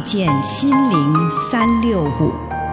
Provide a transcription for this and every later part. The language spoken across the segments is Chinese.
見心靈365。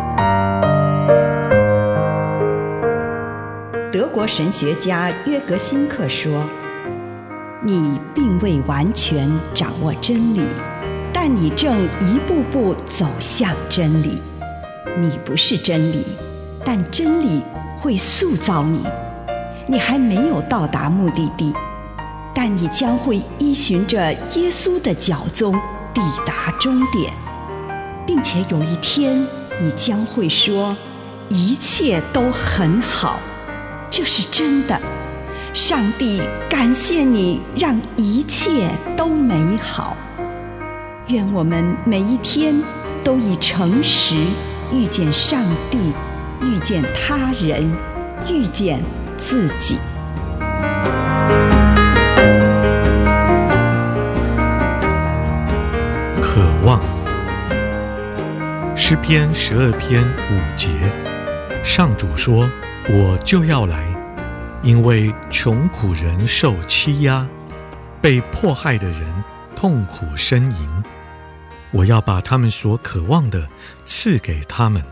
德國神學家約格辛克說：“你並未完全掌握真理，但你正一步步走向真理。你不是真理，但真理會塑造你。你還沒有到達目的地，但你將會依循着耶穌的腳蹤抵達終點，並且有一天你將會說，一切都很好。這是真的。上帝感謝你，讓一切都美好。願我們每一天都以誠實遇見上帝，遇見他人，遇見自己。 渴望。詩篇12篇5節，上主說：“我就要來，因為窮苦人受欺壓，被迫害的人痛苦呻吟。我要把他們所渴望的賜給他們。”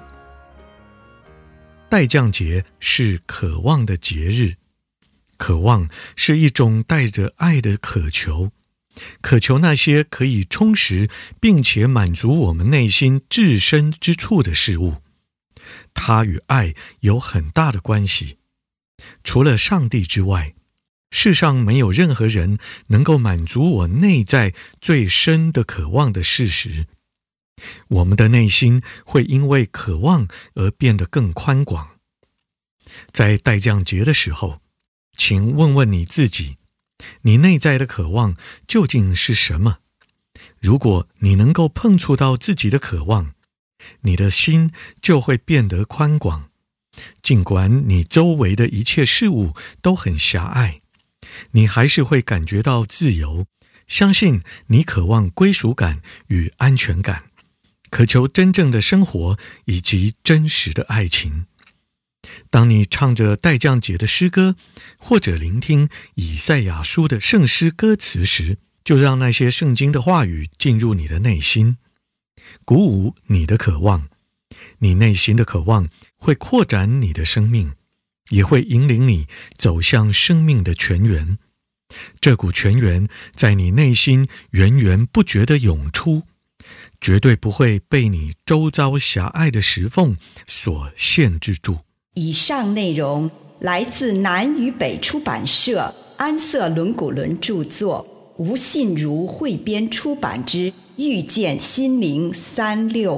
待降節是渴望的節日，渴望是一種帶着愛的渴求，渴求那些可以充實並且滿足我們內心至深之處的事物。它與愛有很大的關係。除了上帝之外，世上沒有任何人能夠滿足我內在最深的渴望的事實。我們的內心會因為渴望而變得更寬廣。在待降節的時候，請問問你自己，你內在的渴望究竟是什麼？如果你能夠碰觸到自己的渴望，你的心就會變得寬廣。儘管你周圍的一切事物都很狹隘，你還是會感覺到自由。相信你渴望歸屬感與安全感，渴求真正的生活以及真實的愛情。當你唱着待降節的詩歌，或者聆聽以賽亞書的聖詩歌詞時，就讓那些聖經的話語進入你的內心，鼓舞你的渴望。你內心的渴望會擴展你的生命，也會引領你走向生命的泉源。這股泉源在你內心源源不絕地湧出，絕對不會被你周遭狹隘的石縫所限制住。 以上內容來自南與北出版社安瑟倫古倫著作，吳信如彙編出版之《遇見心靈365》。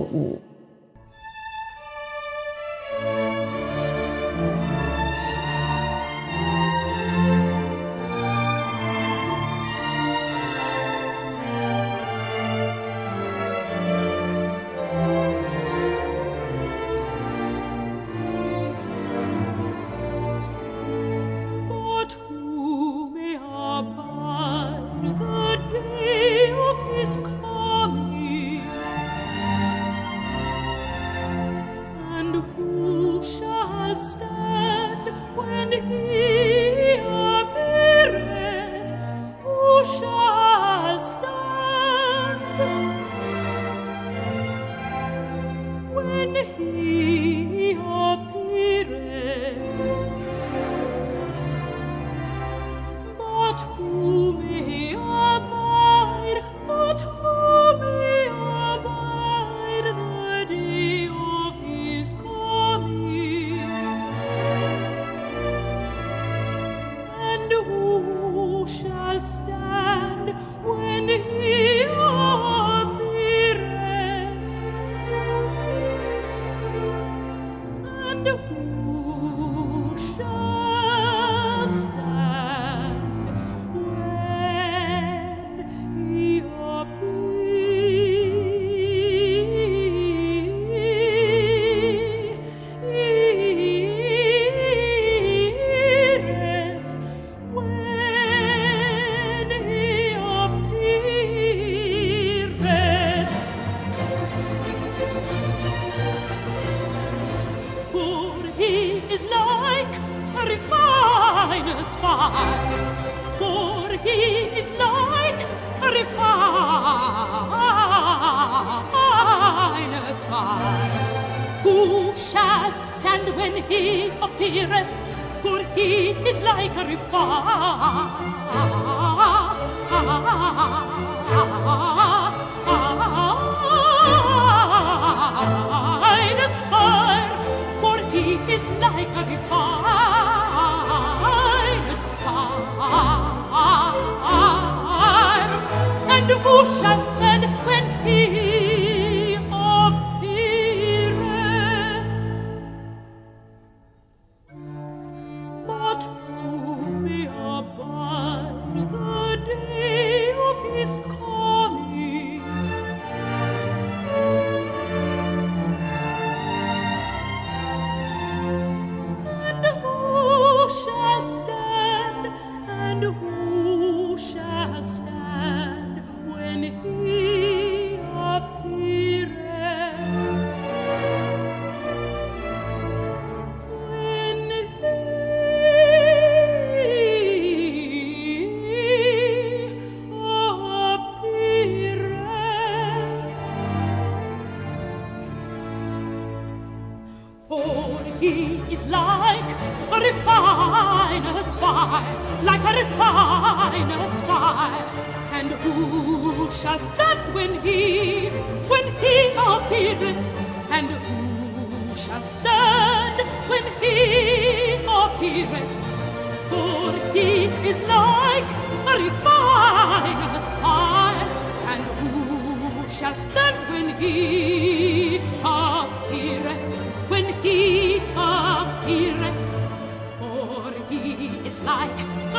appeareth, for he is like a refiner's fire, for he is like a refiner's fire. And who shall stand when he appeareth? But who may abide the day of his coming? And who shall stand? And who shall stand when he appeareth? When he appeareth. For he is like a refiner's fire, like a refiner's fire. And who shall stand when he appeareth? And who shall stand when he appeareth? For he is like a refiner's fire. And who shall stand when he appeareth? When he appeareth, for he is like a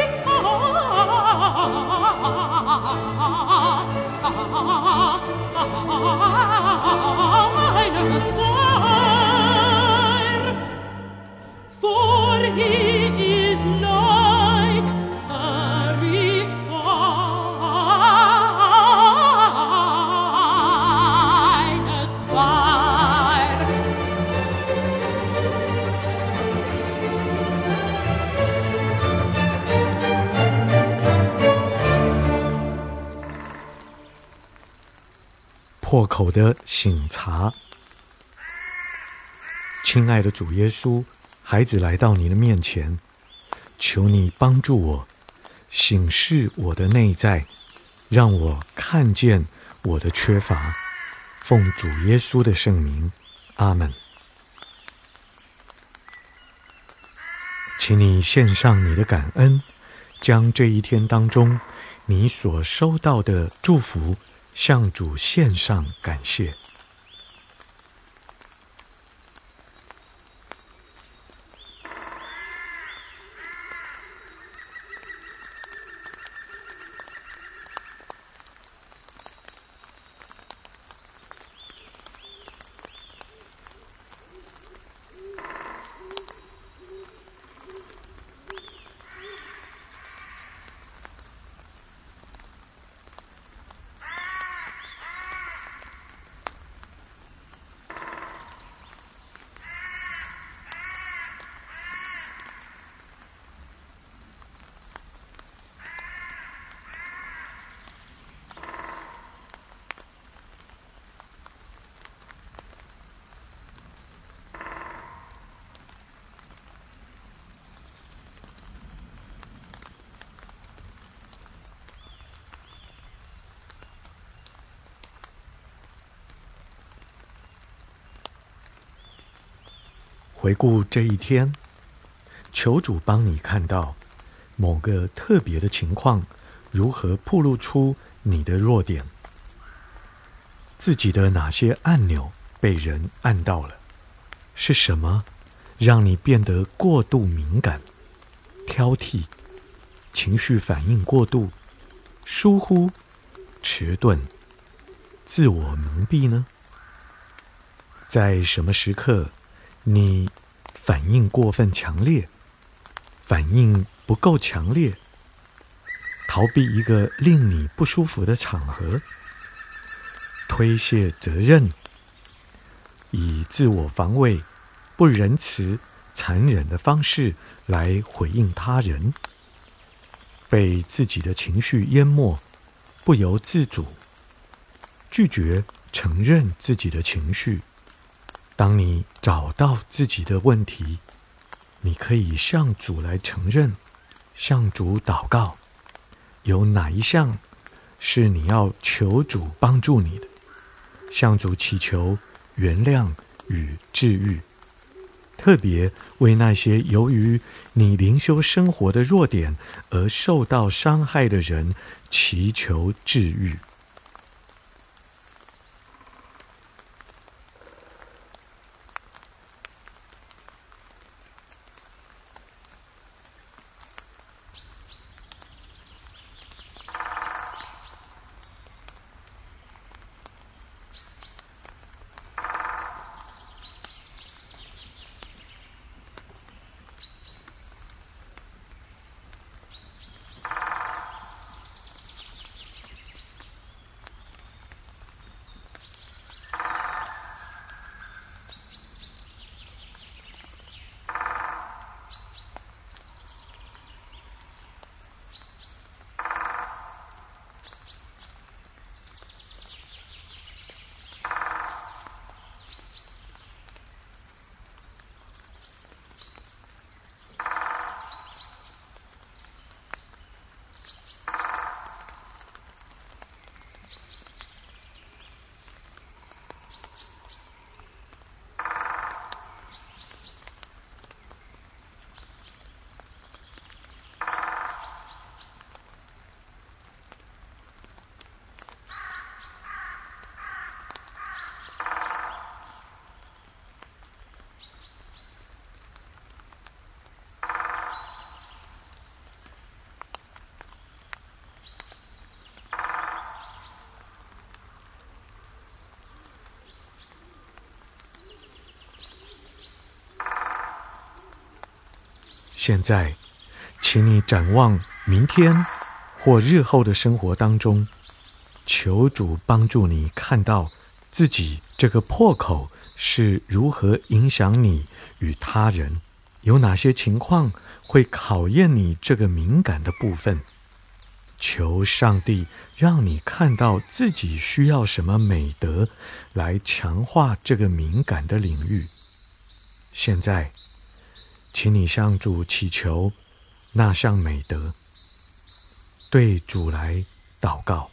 refiner's fire, for he is like a refiner's fire. 破口的省察。亲愛的主耶穌，孩子來到你的面前，求你幫助我，省視我的內在，讓我看見我的缺乏。奉主耶穌的聖名，阿們。請你獻上你的感恩，將這一天當中你所收到的祝福向主獻上感謝。回顧這一天，求主幫你看到某個特別的情況，如何暴露出你的弱點，自己的哪些按鈕被人按到了，是什麼讓你變得過度敏感、挑剔、情緒反應過度、疏忽、遲鈍、自我蒙蔽呢？在什麼時刻你反應過分強烈，反應不夠強烈，逃避一個令你不舒服的場合，推卸責任，以自我防衛、不仁慈、殘忍的方式來回應他人，被自己的情緒淹沒，不由自主，拒絕承認自己的情緒。當你找到自己的問題， 你可以向主來承認，向主禱告，有哪一項是你要求主幫助你的，向主祈求原諒與治癒，特別為那些由於你靈修生活的弱點而受到傷害的人祈求治癒。現在，請你展望明天或日後的生活當中，求主幫助你看到自己這個破口是如何影響你與他人，有哪些情況會考驗你這個敏感的部分。求上帝讓你看到自己需要什麼美德來強化這個敏感的領域。現在，請你向主祈求那項美德，對主來禱告。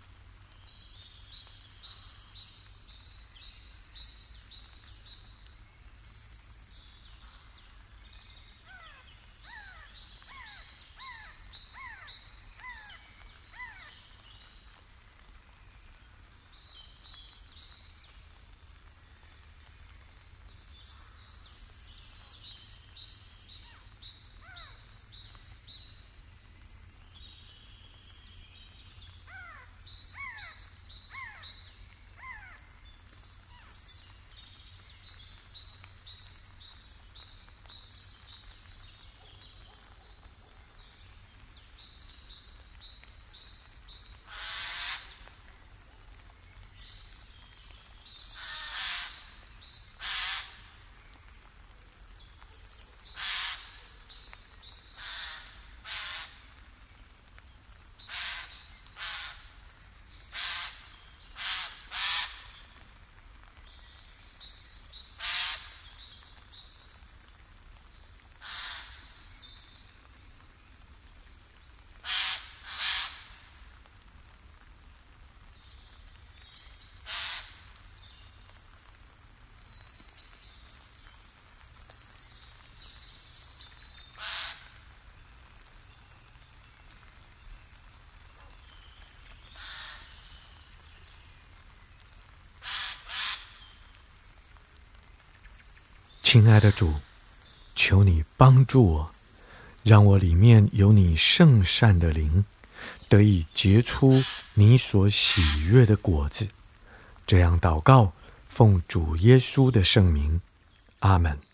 親愛的主，求你幫助我，讓我裡面有你聖善的靈，得以結出你所喜悅的果子。這樣禱告，奉主耶穌的聖名，阿們。